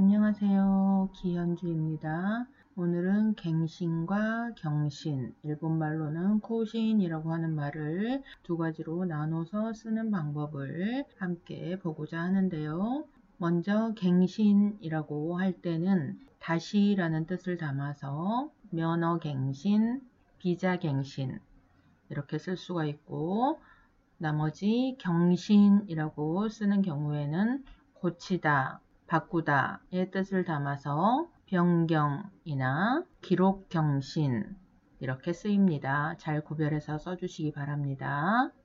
안녕하세요. 기현주입니다. 오늘은 갱신과 경신, 일본말로는 코신이라고 하는 말을 두 가지로 나눠서 쓰는 방법을 함께 보고자 하는데요. 먼저 갱신이라고 할 때는 다시라는 뜻을 담아서 면허갱신, 비자갱신 이렇게 쓸 수가 있고, 나머지 경신이라고 쓰는 경우에는 고치다, 바꾸다의 뜻을 담아서 변경이나 기록경신 이렇게 쓰입니다. 잘 구별해서 써주시기 바랍니다.